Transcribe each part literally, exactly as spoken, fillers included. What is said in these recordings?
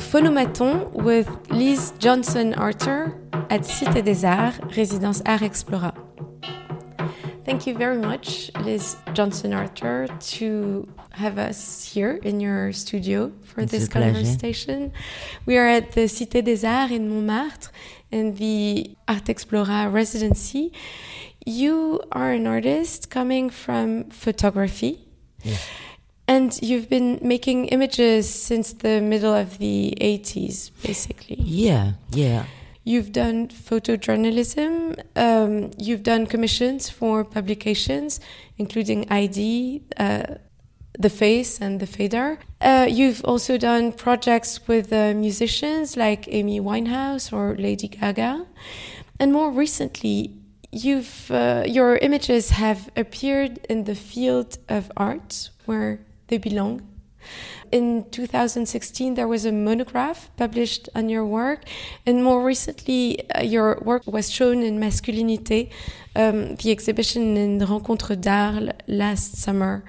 Phonomaton with Liz Johnson-Arthur at Cité des Arts, Résidence Art Explora. Thank you very much, Liz Johnson-Arthur, to have us here in your studio for it's this a pleasure. conversation. We are at the Cité des Arts in Montmartre in the Art Explora residency. You are an artist coming from photography. Yeah. And you've been making images since the middle of the eighties, basically. Yeah, yeah. You've done photojournalism. Um, you've done commissions for publications, including I D, uh, The Face and The Fader. Uh, you've also done projects with uh, musicians like Amy Winehouse or Lady Gaga. And more recently, you've uh, your images have appeared in the field of art, where they belong. In two thousand sixteen, there was a monograph published on your work, and more recently, uh, your work was shown in Masculinité, um, the exhibition in Rencontre d'Art last summer.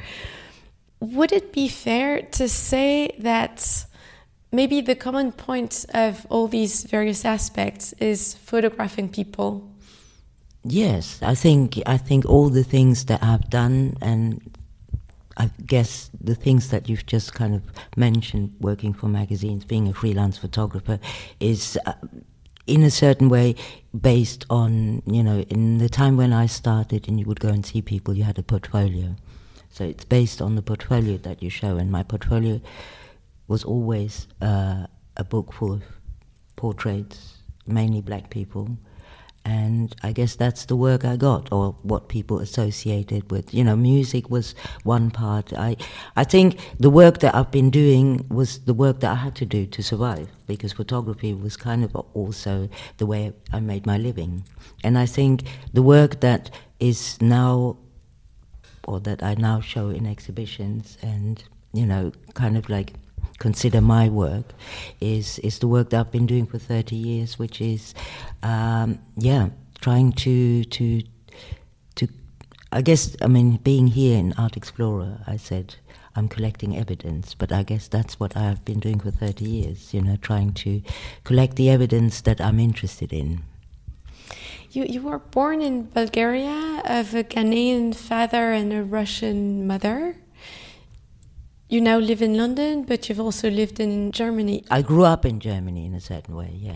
Would it be fair to say that maybe the common point of all these various aspects is photographing people? Yes, I think I think all the things that I've done, and I guess the things that you've just kind of mentioned, working for magazines, being a freelance photographer, is uh, in a certain way based on, you know, in the time when I started and you would go and see people, you had a portfolio. So it's based on the portfolio that you show, and my portfolio was always uh, a book full of portraits, mainly black people. And I guess that's the work I got, or what people associated with. You know, music was one part. I I think the work that I've been doing was the work that I had to do to survive, because photography was kind of also the way I made my living. And I think the work that is now, or that I now show in exhibitions and, you know, kind of like consider my work, is is the work that I've been doing for thirty years, which is, um, yeah, trying to, to, to, I guess, I mean, being here in Art Explorer, I said, I'm collecting evidence, but I guess that's what I've been doing for thirty years, you know, trying to collect the evidence that I'm interested in. You you were born in Bulgaria of a Ghanaian father and a Russian mother. You now live in London, but you've also lived in Germany. I grew up in Germany in a certain way, yeah.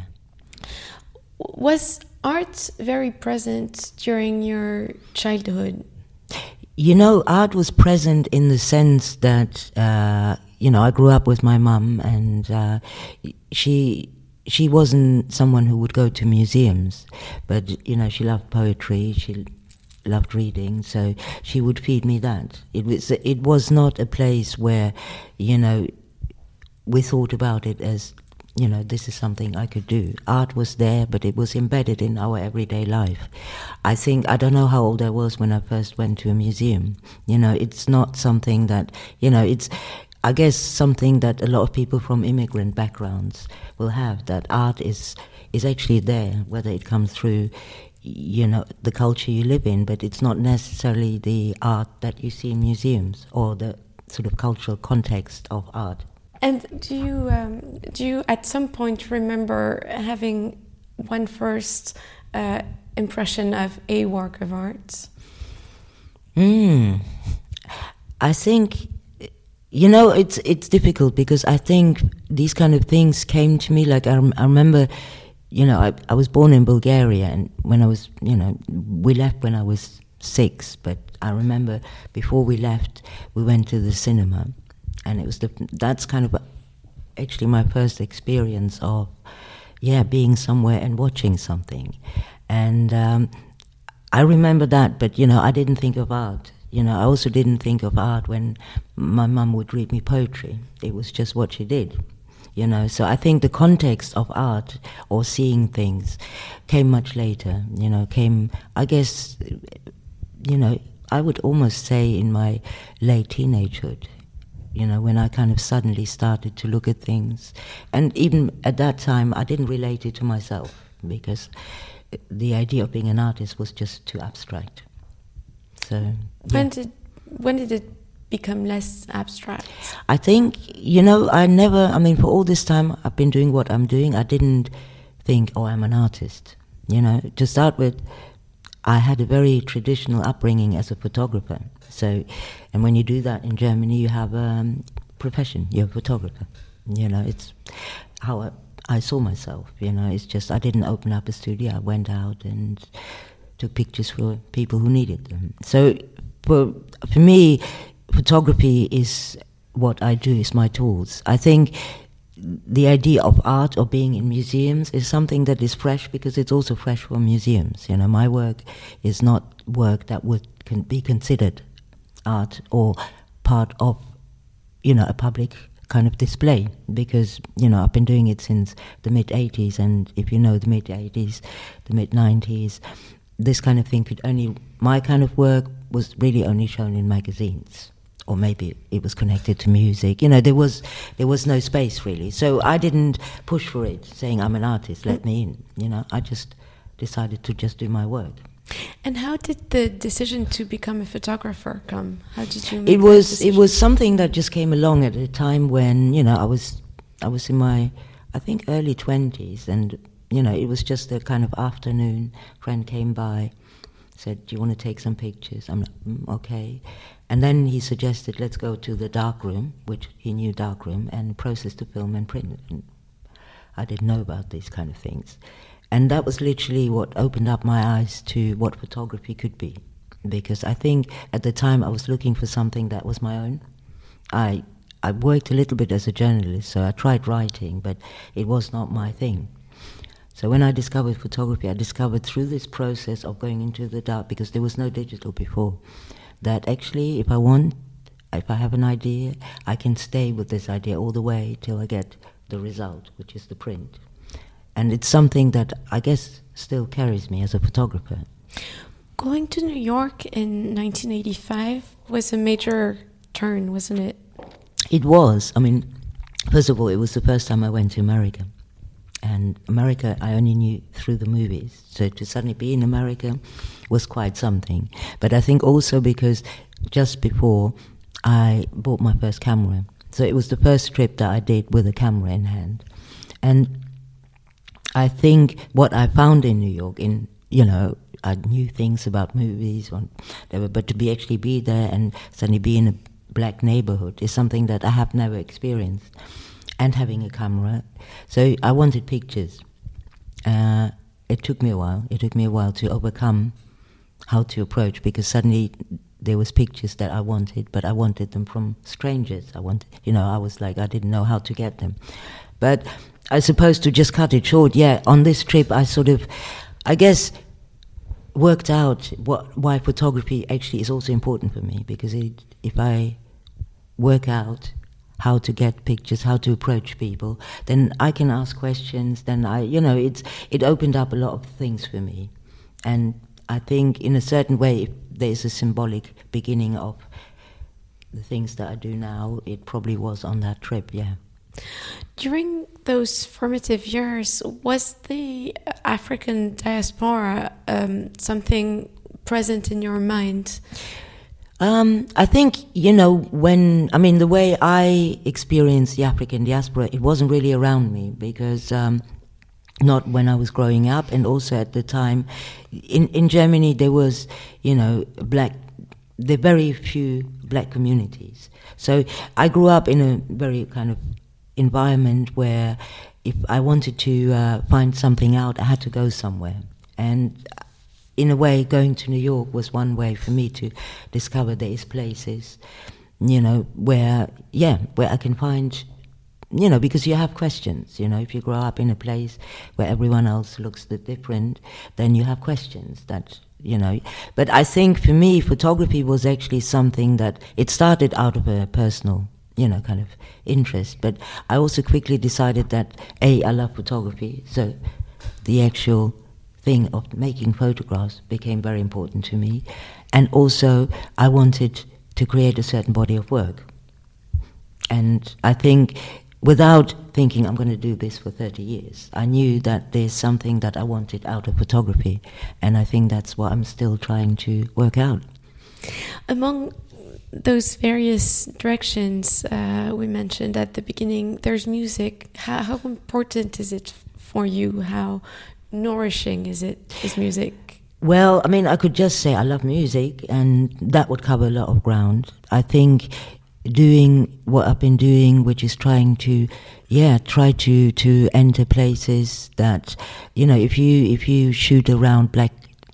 Was art very present during your childhood? You know, art was present in the sense that, uh, you know, I grew up with my mum, and uh, she she wasn't someone who would go to museums, but, you know, she loved poetry, she loved reading, so she would feed me that. It was it was not a place where, you know, we thought about it as, you know, this is something I could do. Art was there, but it was embedded in our everyday life. I think, I don't know how old I was when I first went to a museum. You know, it's not something that, you know, it's, I guess, something that a lot of people from immigrant backgrounds will have, that art is is actually there, whether it comes through, you know, the culture you live in, but it's not necessarily the art that you see in museums or the sort of cultural context of art. And do you um, do you at some point remember having one first uh, impression of a work of art? Mm. I think, you know, it's it's difficult, because I think these kind of things came to me, like I, I remember, you know, I, I was born in Bulgaria, and when I was, you know, we left when I was six, but I remember before we left, we went to the cinema, and it was the, that's kind of actually my first experience of, yeah, being somewhere and watching something. And um, I remember that, but, you know, I didn't think of art. You know, I also didn't think of art when my mum would read me poetry. It was just what she did. You know, so I think the context of art or seeing things came much later, you know, came, I guess, you know, I would almost say in my late teenagehood, you know, when I kind of suddenly started to look at things. And even at that time, I didn't relate it to myself, because the idea of being an artist was just too abstract. So, yeah. When did when did it become less abstract? I think, you know, I never, I mean, for all this time I've been doing what I'm doing, I didn't think, oh, I'm an artist. You know, to start with, I had a very traditional upbringing as a photographer. So, and when you do that in Germany, you have a um, profession, you're a photographer. You know, it's how I, I saw myself, you know, it's just, I didn't open up a studio, I went out and took pictures for people who needed them. So, for, for me, photography is what I do, is my tools. I think the idea of art or being in museums is something that is fresh because it's also fresh for museums. You know, my work is not work that would can be considered art or part of, you know, a public kind of display, because, you know, I've been doing it since the mid eighties, and if you know the mid eighties, the mid nineties, this kind of thing could only, my kind of work was really only shown in magazines. Or maybe it was connected to music. You know, there was there was no space really. So I didn't push for it, saying I'm an artist, let me in. You know, I just decided to just do my work. And how did the decision to become a photographer come? How did you make it was that it was something that just came along at a time when, you know, I was I was in my I think early twenties, and, you know, it was just a kind of afternoon. Friend came by, said, do you want to take some pictures? I'm like, mm, okay. And then he suggested, let's go to the darkroom, which he knew darkroom, and process the film and print it. And I didn't know about these kind of things. And that was literally what opened up my eyes to what photography could be. Because I think at the time I was looking for something that was my own. I I worked a little bit as a journalist, so I tried writing, but it was not my thing. So when I discovered photography, I discovered through this process of going into the dark, because there was no digital before, that actually if I want, if I have an idea, I can stay with this idea all the way till I get the result, which is the print. And it's something that I guess still carries me as a photographer. Going to New York in nineteen eighty-five was a major turn, wasn't it? It was. I mean, first of all, it was the first time I went to America. And America, I only knew through the movies. So to suddenly be in America was quite something. But I think also because just before I bought my first camera. So it was the first trip that I did with a camera in hand. And I think what I found in New York, in, you know, I knew things about movies, or whatever, but to be actually be there and suddenly be in a black neighborhood is something that I have never experienced. And having a camera. So I wanted pictures. Uh, it took me a while. It took me a while to overcome how to approach, because suddenly there was pictures that I wanted, but I wanted them from strangers. I wanted, you know, I was like, I didn't know how to get them. But I suppose to just cut it short, yeah, on this trip I sort of, I guess, worked out what why photography actually is also important for me, because it, if I work out how to get pictures, how to approach people, then I can ask questions, then I, you know, it's it opened up a lot of things for me. And I think in a certain way, there's a symbolic beginning of the things that I do now. It probably was on that trip, yeah. During those formative years, was the African diaspora um, something present in your mind? Um, I think, you know, when, I mean, the way I experienced the African diaspora, it wasn't really around me, because um, not when I was growing up, and also at the time, in, in Germany there was, you know, black, there are very few black communities. So I grew up in a very kind of environment where if I wanted to uh, find something out, I had to go somewhere. And in a way, going to New York was one way for me to discover these places, you know, where, yeah, where I can find, you know, because you have questions, you know, if you grow up in a place where everyone else looks different, then you have questions that, you know. But I think for me, photography was actually something that, it started out of a personal, you know, kind of interest, but I also quickly decided that, A, I love photography, so the actual thing of making photographs became very important to me. And also I wanted to create a certain body of work. And I think without thinking I'm going to do this for thirty years, I knew that there's something that I wanted out of photography. And I think that's what I'm still trying to work out. Among those various directions uh, we mentioned at the beginning, there's music. How, how important is it for you? How nourishing is it, is music? Well, I mean, I could just say I love music, and that would cover a lot of ground. I think doing what I've been doing, which is trying to, yeah, try to, to enter places that, you know, if you if you shoot around black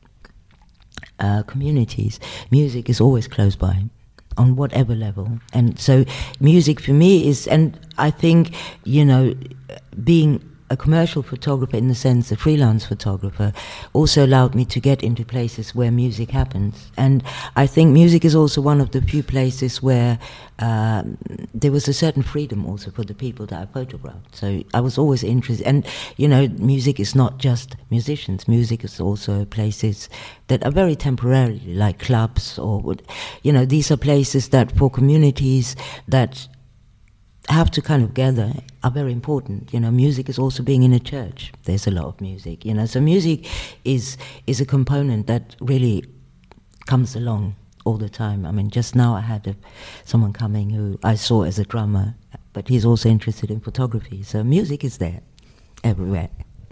uh, communities, music is always close by, on whatever level. And so music for me is, and I think, you know, being a commercial photographer, in the sense a freelance photographer, also allowed me to get into places where music happens. And I think music is also one of the few places where uh, there was a certain freedom also for the people that I photographed. So I was always interested. And, you know, music is not just musicians. Music is also places that are very temporarily, like clubs or, you know, these are places that for communities that have to kind of gather are very important. You know, music is also being in a church. There's a lot of music, you know. So music is is a component that really comes along all the time. I mean, just now I had a, someone coming who I saw as a drummer, but he's also interested in photography. So music is there everywhere.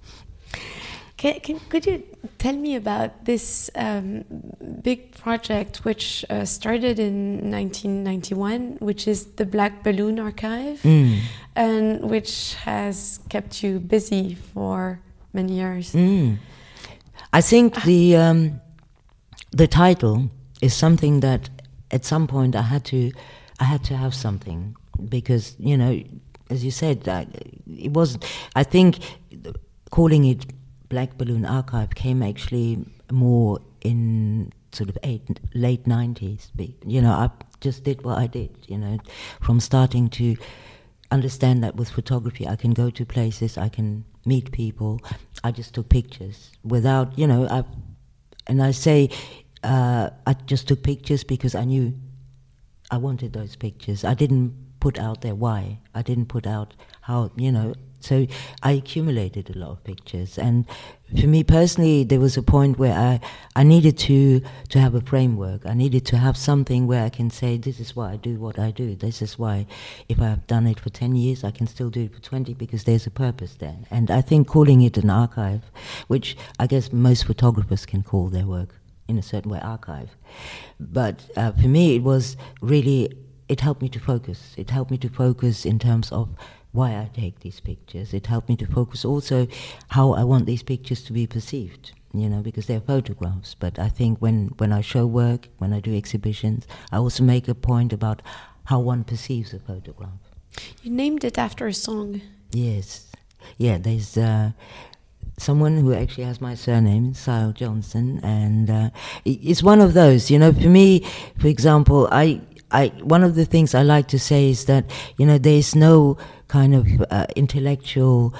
Can, can, could you tell me about this um, big project which uh, started in nineteen ninety-one, which is the Black Balloon Archive, mm. and which has kept you busy for many years? Mm. I think the um, the title is something that at some point I had to I had to have something, because, you know, as you said, I, it was. I think calling it Black Balloon Archive came actually more in sort of eight, late nineties. You know, I just did what I did, you know, from starting to understand that with photography I can go to places, I can meet people. I just took pictures without, you know, I, and I say uh, I just took pictures because I knew I wanted those pictures. I didn't put out there why. I didn't put out how, you know. So I accumulated a lot of pictures, and for me personally, there was a point where I, I needed to to have a framework. I needed to have something where I can say, this is why I do what I do. This is why, if I've done it for ten years, I can still do it for twenty, because there's a purpose there. And I think calling it an archive, which I guess most photographers can call their work in a certain way archive, but uh, for me it was really, it helped me to focus. It helped me to focus in terms of why I take these pictures. It helped me to focus also how I want these pictures to be perceived, you know, because they're photographs. But I think when, when I show work, when I do exhibitions, I also make a point about how one perceives a photograph. You named it after a song. Yes. Yeah, there's uh, someone who actually has my surname, Sile Johnson, and uh, it's one of those, you know, for me, for example, I... I, one of the things I like to say is that, you know, there's no kind of uh, intellectual,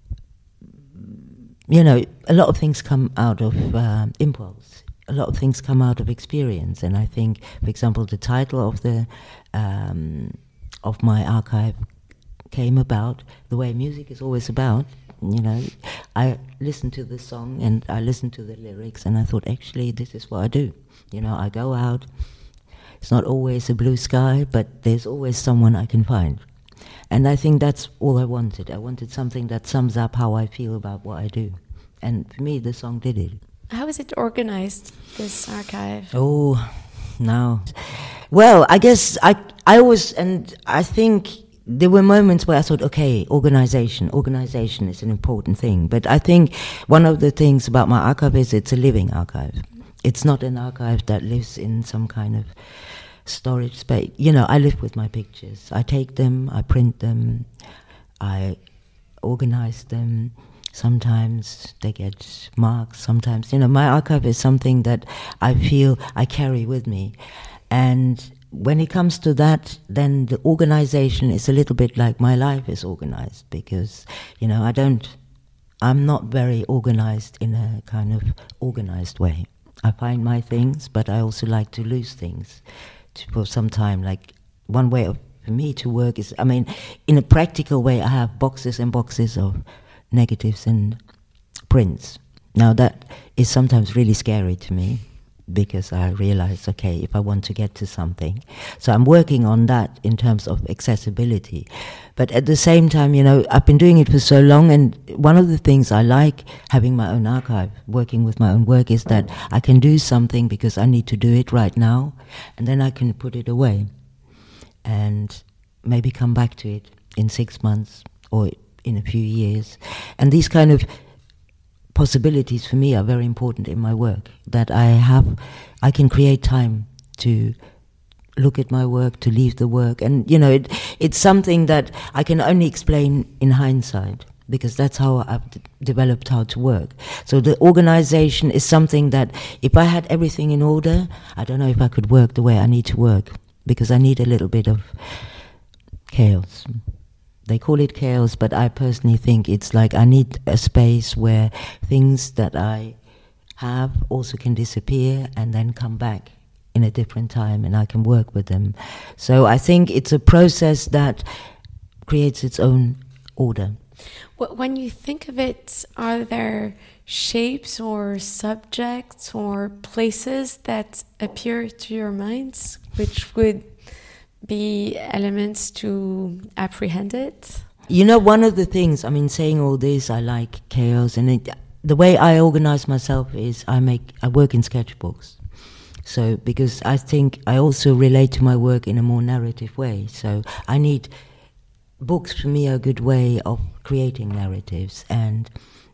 you know, a lot of things come out of uh, impulse. A lot of things come out of experience. And I think, for example, the title of the um, of my archive came about the way music is always about. You know, I listened to the song and I listened to the lyrics, and I thought, actually, this is what I do. You know, I go out. It's not always a blue sky, but there's always someone I can find. And I think that's all I wanted. I wanted something that sums up how I feel about what I do. And for me, the song did it. How is it organized, this archive? Oh, now. Well, I guess I, I always, and I think there were moments where I thought, okay, organization, organization is an important thing. But I think one of the things about my archive is it's a living archive. It's not an archive that lives in some kind of storage space. You know, I live with my pictures. I take them, I print them, I organize them. Sometimes they get marks, sometimes, you know, my archive is something that I feel I carry with me. And when it comes to that, then the organization is a little bit like my life is organized, because, you know, I don't, I'm not very organized in a kind of organized way. I find my things, but I also like to lose things to, for some time. Like, one way of, for me to work is, I mean, in a practical way, I have boxes and boxes of negatives and prints. Now, that is sometimes really scary to me, because I realized, okay, if I want to get to something. So I'm working on that in terms of accessibility. But at the same time, you know, I've been doing it for so long, and one of the things I like having my own archive, working with my own work, is that I can do something because I need to do it right now, and then I can put it away and maybe come back to it in six months or in a few years. And these kind of possibilities for me are very important in my work, that I have, I can create time to look at my work, to leave the work. And, you know, it, it's something that I can only explain in hindsight, because that's how I've d- developed how to work. So the organization is something that if I had everything in order, I don't know if I could work the way I need to work, because I need a little bit of chaos. They call it chaos, but I personally think it's like I need a space where things that I have also can disappear and then come back in a different time, and I can work with them. So I think it's a process that creates its own order. When you think of it, are there shapes or subjects or places that appear to your minds which would be elements to apprehend it? You know, one of the things, I mean, saying all this, I like chaos, and it, the way I organize myself is I make, I work in sketchbooks. So, because I think I also relate to my work in a more narrative way. So I need, books for me are a good way of creating narratives, and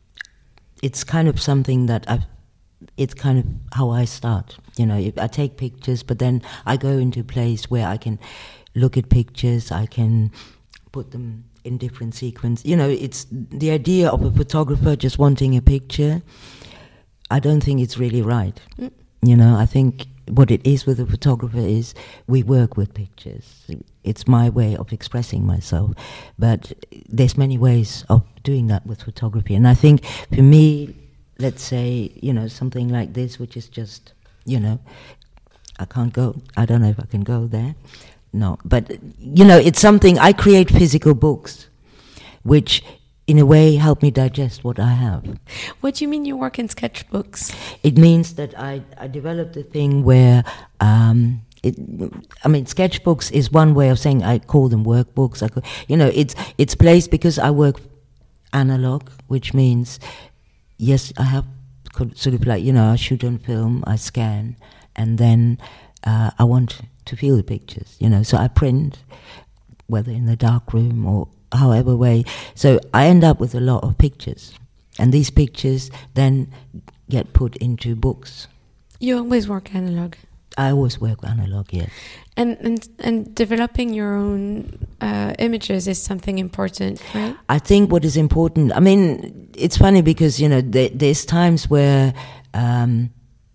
it's kind of something that I've, it's kind of how I start. You know, if I take pictures, but then I go into a place where I can look at pictures, I can put them in different sequence. You know, it's the idea of a photographer just wanting a picture. I don't think it's really right. Mm. You know, I think what it is with a photographer is we work with pictures. It's my way of expressing myself. But there's many ways of doing that with photography. And I think for me, let's say, you know, something like this, which is just, you know, I can't go, I don't know if I can go there. No, but, you know, it's something, I create physical books, which in a way help me digest what I have. What do you mean you work in sketchbooks? It means that I, I developed a thing where, um, it, I mean, sketchbooks is one way of saying I call them workbooks. I call, you know, it's it's placed because I work analog, which means, yes, I have sort of like, you know, I shoot on film, I scan, and then uh, I want to feel the pictures, you know, so I print, whether in the dark room or however way. So I end up with a lot of pictures, and these pictures then get put into books. You always work analog? I always work analog, yes. And and, and developing your own uh, images is something important, right? I think what is important, I mean, it's funny because, you know, there, there's times where um,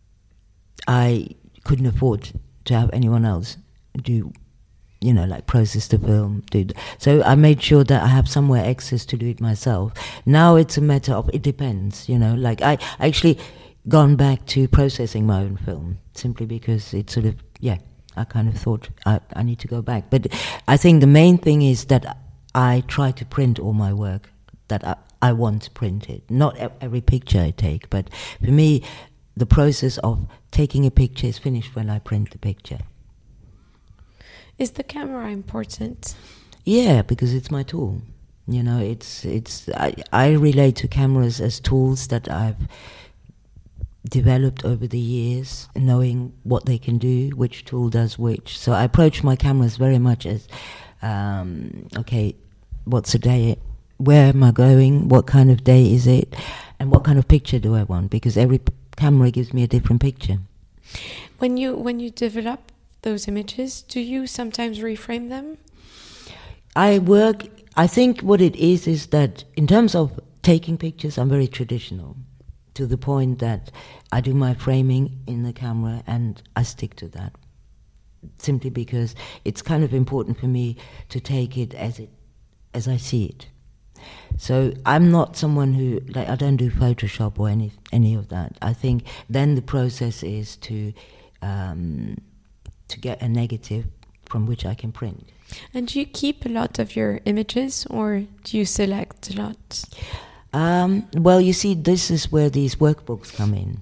I couldn't afford to have anyone else do, you know, like process the film. Do th- so I made sure that I have somewhere access to do it myself. Now it's a matter of, it depends, you know, like I actually gone back to processing my own film simply because it's sort of, yeah, I kind of thought I, I need to go back. But I think the main thing is that I try to print all my work that I, I want printed. Not every picture I take, but for me, the process of taking a picture is finished when I print the picture. Is the camera important? Yeah, because it's my tool. You know, it's it's. I, I relate to cameras as tools that I've developed over the years, knowing what they can do, which tool does which. So I approach my cameras very much as, um, okay, what's the day? Where am I going? What kind of day is it? And what kind of picture do I want? Because every p- camera gives me a different picture. When you when you develop those images, do you sometimes reframe them? I work, I think what it is is that in terms of taking pictures, I'm very traditional, to the point that I do my framing in the camera and I stick to that, simply because it's kind of important for me to take it as it as I see it. So I'm not someone who, like, I don't do Photoshop or any any of that. I think then the process is to um, to get a negative from which I can print. And do you keep a lot of your images, or do you select a lot? Um, well, you see, this is where these workbooks come in,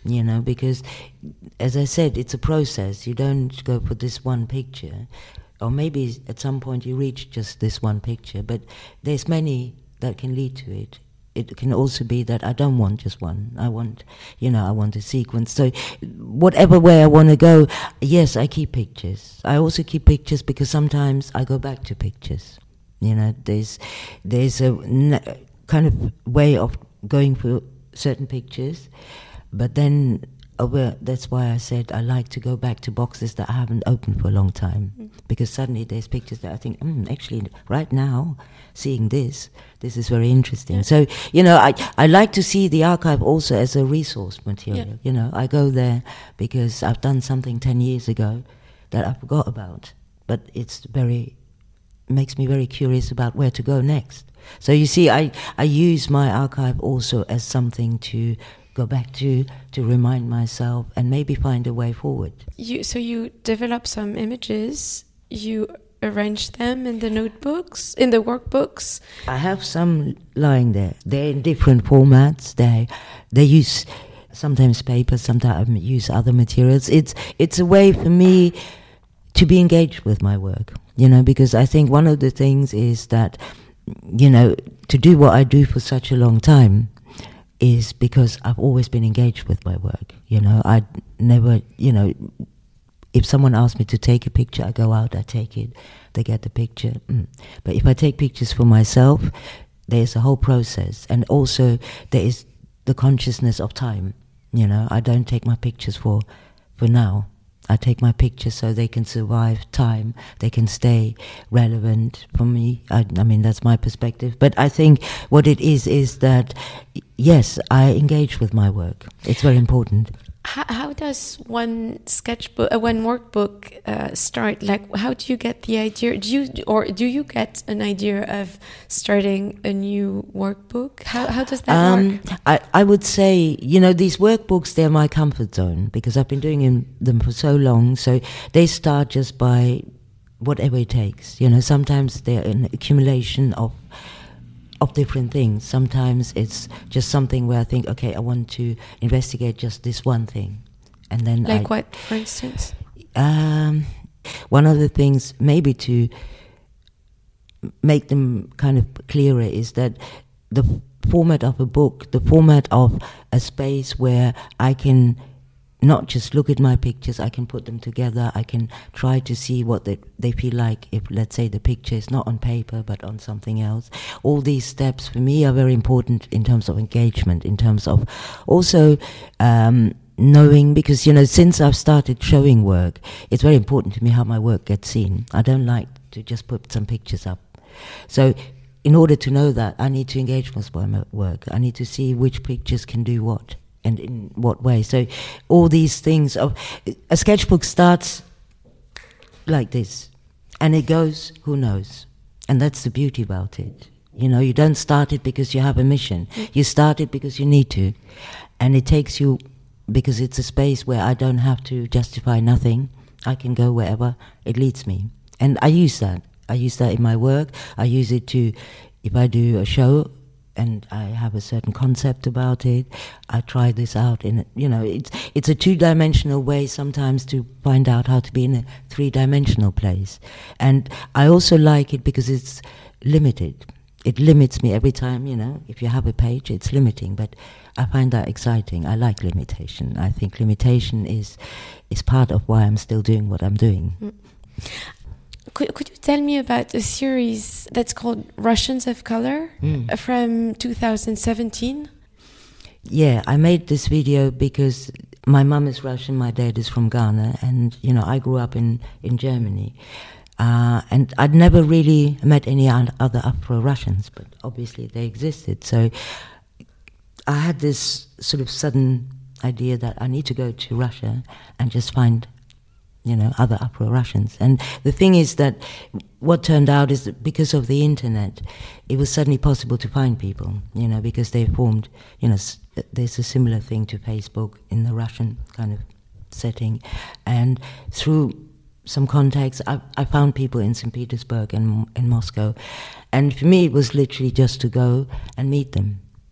you know, because, as I said, it's a process. You don't go for this one picture, or maybe at some point you reach just this one picture, but there's many that can lead to it. It can also be that I don't want just one. I want, you know, I want a sequence. So whatever way I want to go, yes, I keep pictures. I also keep pictures because sometimes I go back to pictures. You know, there's there's a n- kind of way of going for certain pictures, but then oh, well, that's why I said I like to go back to boxes that I haven't opened for a long time, mm. because suddenly there's pictures that I think, mm, actually, right now, seeing this, this is very interesting. Yeah. So, you know, I I like to see the archive also as a resource material. Yeah. You know, I go there because I've done something ten years ago that I forgot about, but it's very, makes me very curious about where to go next. So you see, I, I use my archive also as something to go back to, to remind myself and maybe find a way forward. You, so you develop some images, you arrange them in the notebooks, in the workbooks? I have some lying there. They're in different formats. They they use sometimes paper, sometimes use other materials. It's it's a way for me to be engaged with my work, you know, because I think one of the things is that, you know, to do what I do for such a long time is because I've always been engaged with my work. You know, I never, you know, if someone asks me to take a picture, I go out, I take it, they get the picture. Mm. But if I take pictures for myself, there's a whole process. And also there is the consciousness of time. You know, I don't take my pictures for, for now. I take my pictures so they can survive time, they can stay relevant for me. I, I mean, that's my perspective. But I think what it is, is that, yes, I engage with my work. It's very important. How, how does one sketchbook, uh, one workbook uh, start? Like, how do you get the idea? Do you, or do you get an idea of starting a new workbook? How how does that um, work? I, I would say, you know, these workbooks, they're my comfort zone because I've been doing in, them for so long. So they start just by whatever it takes. You know, sometimes they're an accumulation of of different things. Sometimes it's just something where I think, okay, I want to investigate just this one thing, and then like I, what, for instance? Um, one of the things, maybe to make them kind of clearer, is that the format of a book, the format of a space where I can not just look at my pictures, I can put them together, I can try to see what they, they feel like if, let's say, the picture is not on paper but on something else. All these steps for me are very important in terms of engagement, in terms of also um, knowing, because, you know, since I've started showing work, it's very important to me how my work gets seen. I don't like to just put some pictures up. So in order to know that, I need to engage with my work. I need to see which pictures can do what. And in what way? So all these things of a sketchbook starts like this, and it goes, who knows? And that's the beauty about it. You know, you don't start it because you have a mission. You start it because you need to, and it takes you because it's a space where I don't have to justify nothing. I can go wherever it leads me, and I use that. I use that in my work. I use it to, if I do a show and I have a certain concept about it, I try this out in, you know, it's it's a two-dimensional way sometimes to find out how to be in a three-dimensional place. And I also like it because it's limited. It limits me every time, you know, if you have a page, it's limiting, but I find that exciting. I like limitation. I think limitation is is part of why I'm still doing what I'm doing. Mm. Could, could you tell me about a series that's called Russians of Color mm. from two thousand seventeen? Yeah, I made this video because my mum is Russian, my dad is from Ghana, and, you know, I grew up in, in Germany. Uh, and I'd never really met any other Afro-Russians, but obviously they existed. So I had this sort of sudden idea that I need to go to Russia and just find, you know, other Afro-Russians. And the thing is that what turned out is that because of the internet, it was suddenly possible to find people, you know, because they formed, you know, s- there's a similar thing to Facebook in the Russian kind of setting. And through some contacts, I, I found people in Saint Petersburg and in Moscow. And for me, it was literally just to go and meet them,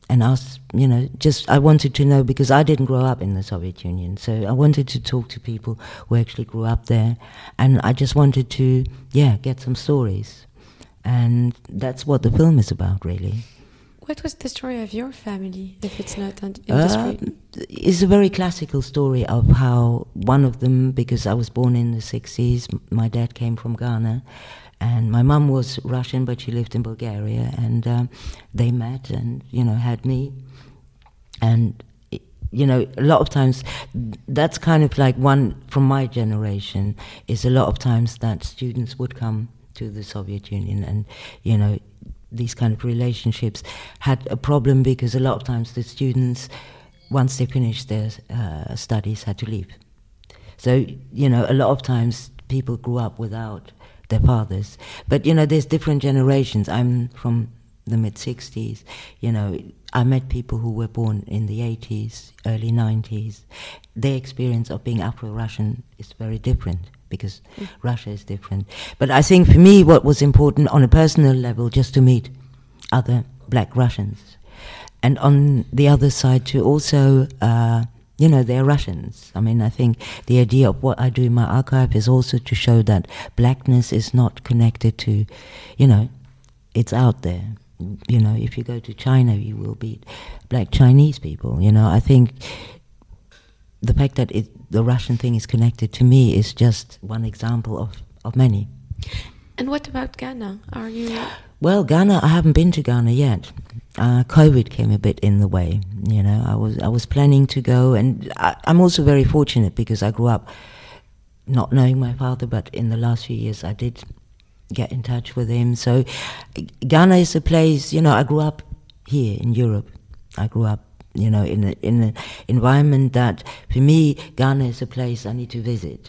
and ask, you know, just I wanted to know, because I didn't grow up in the Soviet Union, so I wanted to talk to people who actually grew up there, and I just wanted to, yeah, get some stories, and that's what the film is about, really. What was the story of your family, if it's not on industry? Uh, it's a very classical story of how one of them, because I was born in the sixties, my dad came from Ghana, and my mum was Russian, but she lived in Bulgaria, and um, they met and, you know, had me. And, you know, a lot of times, that's kind of like one, from my generation, is a lot of times that students would come to the Soviet Union, and, you know, these kind of relationships had a problem because a lot of times the students, once they finished their uh, studies, had to leave. So, you know, a lot of times people grew up without their fathers. But, you know, there's different generations. I'm from the mid-sixties, you know, I met people who were born in the eighties, early nineties. Their experience of being Afro-Russian is very different, because mm. Russia is different. But I think for me what was important on a personal level, just to meet other black Russians. And on the other side to also, uh, you know, they're Russians. I mean, I think the idea of what I do in my archive is also to show that blackness is not connected to, you know, it's out there. You know, if you go to China, you will meet black Chinese people. You know, I think the fact that it, the Russian thing is connected to me is just one example of, of many. And what about Ghana? Are you... Well, Ghana, I haven't been to Ghana yet. Uh, COVID came a bit in the way. You know, I was I was planning to go, and I, I'm also very fortunate because I grew up not knowing my father, but in the last few years I did get in touch with him. So Ghana is a place, you know, I grew up here in Europe. I grew up, you know, in a, in an environment that, for me, Ghana is a place I need to visit.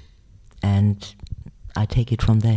And I take it from there.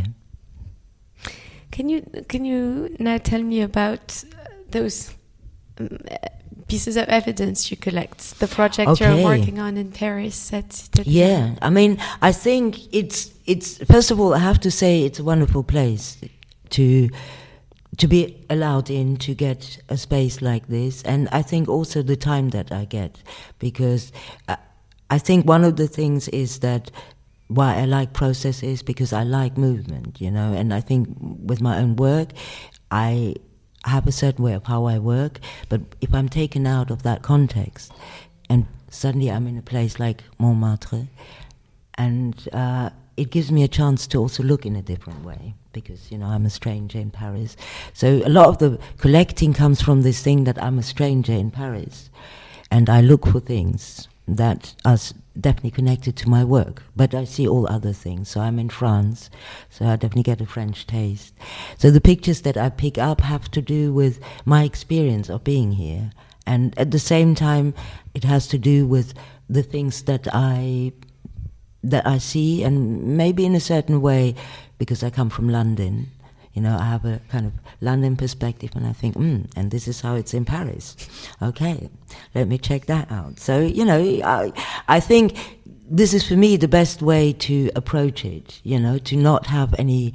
Can you can you now tell me about those um, pieces of evidence you collect, the project okay. you're working on in Paris? At, at yeah, I mean, I think it's it's first of all, I have to say it's a wonderful place to to be allowed in, to get a space like this, and I think also the time that I get, because I, I think one of the things is that why I like processes, because I like movement, you know, and I think with my own work, I have a certain way of how I work, but if I'm taken out of that context, and suddenly I'm in a place like Montmartre, and uh, it gives me a chance to also look in a different way, because, you know, I'm a stranger in Paris. So a lot of the collecting comes from this thing that I'm a stranger in Paris, and I look for things that are definitely connected to my work, but I see all other things. So I'm in France, so I definitely get a French taste. So the pictures that I pick up have to do with my experience of being here, and at the same time it has to do with the things that I that I see, and maybe in a certain way, because I come from London, you know, I have a kind of London perspective, and I think, hmm, and this is how it's in Paris. Okay, let me check that out. So, you know, I, I think this is for me the best way to approach it, you know, to not have any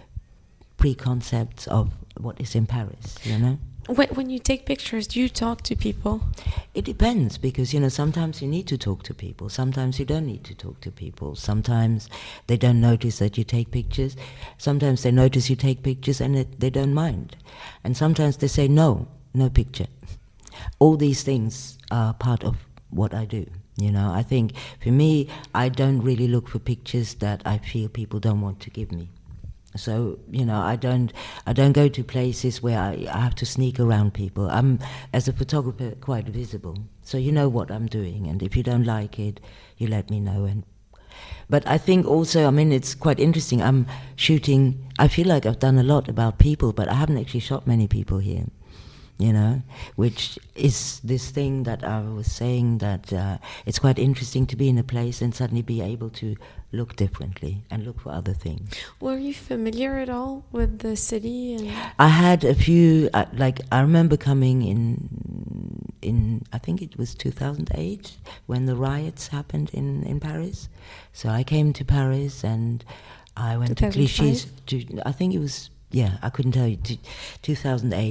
preconcepts of what is in Paris, you know. When, when you take pictures, do you talk to people? It depends, because, you know, sometimes you need to talk to people. Sometimes you don't need to talk to people. Sometimes they don't notice that you take pictures. Sometimes they notice you take pictures and it, they don't mind. And sometimes they say, no, no picture. All these things are part of what I do. You know, I think for me, I don't really look for pictures that I feel people don't want to give me. So, you know, I don't I don't go to places where I, I have to sneak around people. I'm, as a photographer, quite visible. So you know what I'm doing, and if you don't like it, you let me know. And But I think also, I mean, it's quite interesting. I'm shooting, I feel like I've done a lot about people, but I haven't actually shot many people here, you know, which is this thing that I was saying, that uh, it's quite interesting to be in a place and suddenly be able to look differently and look for other things. Were you familiar at all with the city? And I had a few, uh, like, I remember coming in, in I think it was two thousand eight, when the riots happened in, in Paris. So I came to Paris and I went to Clichy. To, I think it was, yeah, I couldn't tell you, to two thousand eight or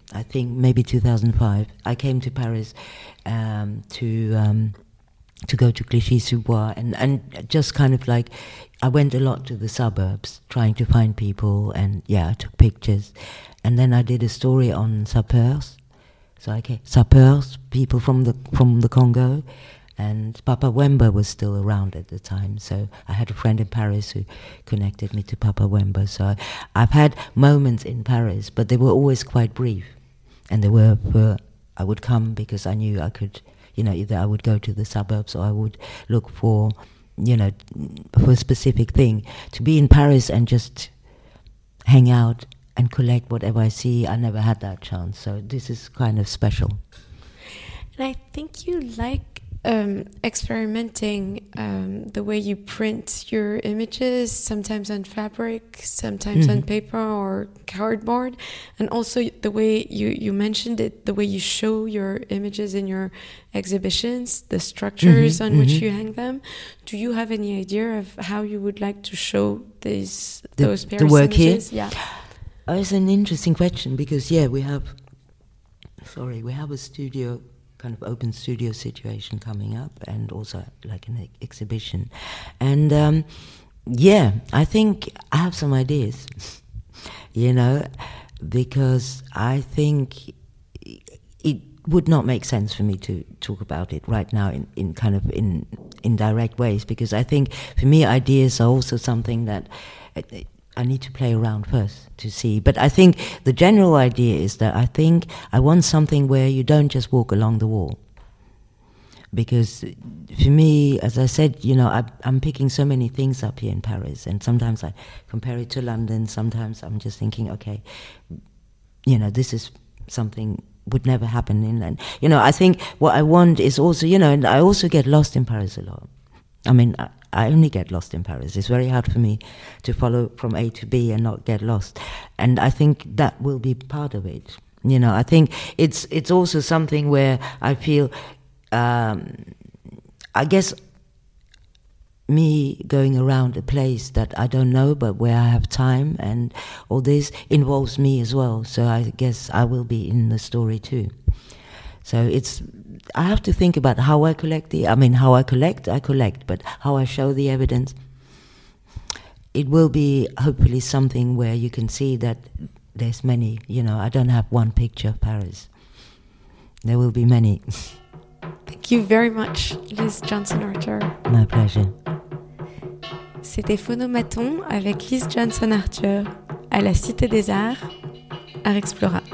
I think maybe two thousand five, I came to Paris um, to um, to go to Clichy-sous-Bois, and, and just kind of like, I went a lot to the suburbs trying to find people, and yeah, I took pictures. And then I did a story on sapeurs, so I came, sapeurs, people from the from the Congo, and Papa Wemba was still around at the time, so I had a friend in Paris who connected me to Papa Wemba. So I, I've had moments in Paris, but they were always quite brief, and they were, were I would come because I knew I could, you know, either I would go to the suburbs or I would look for, you know, for a specific thing. To be in Paris and just hang out and collect whatever I see, I never had that chance. So this is kind of special. And I think you like um, experimenting um, the way you print your images, sometimes on fabric, sometimes mm-hmm. on paper or cardboard, and also the way you, you mentioned it, the way you show your images in your exhibitions, the structures mm-hmm, on mm-hmm. which you hang them. Do you have any idea of how you would like to show these the, those Paris the work images? Here? Yeah. Oh, it's an interesting question because yeah, we have. Sorry, we have a studio, kind of open studio situation coming up, and also like an ex- exhibition, and um, yeah, I think I have some ideas, you know, because I think it would not make sense for me to talk about it right now in, in kind of in indirect ways, because I think for me ideas are also something that I need to play around first to see. But I think the general idea is that I think I want something where you don't just walk along the wall. Because for me, as I said, you know, I, I'm picking so many things up here in Paris, and sometimes I compare it to London, sometimes I'm just thinking, okay, you know, this is something would never happen in London. You know, I think what I want is also, you know, and I also get lost in Paris a lot. I mean, I, I only get lost in Paris. It's very hard for me to follow from A to B and not get lost. And I think that will be part of it. You know, I think it's it's also something where I feel, um, I guess, me going around a place that I don't know, but where I have time, and all this involves me as well. So I guess I will be in the story too. So it's, I have to think about how I collect the, I mean, how I collect, I collect, but how I show the evidence, it will be hopefully something where you can see that there's many, you know, I don't have one picture of Paris. There will be many. Thank you very much, Lise Johnson-Archer. My pleasure. C'était Phonomaton avec Lise Johnson-Archer à la Cité des Arts, Art Explora.